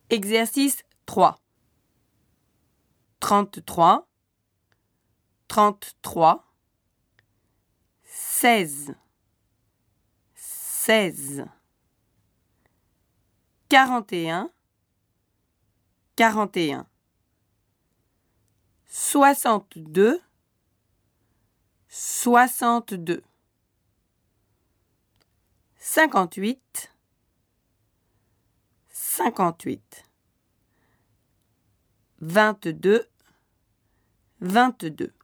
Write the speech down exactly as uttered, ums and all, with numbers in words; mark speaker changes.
Speaker 1: Exercice trois. trente-trois, trente-trois, seize, seize, quarante et un, quarante et un, soixante-deux, soixante-deux, cinquante-huit, cinquante-huit, vingt-deux, vingt-deux.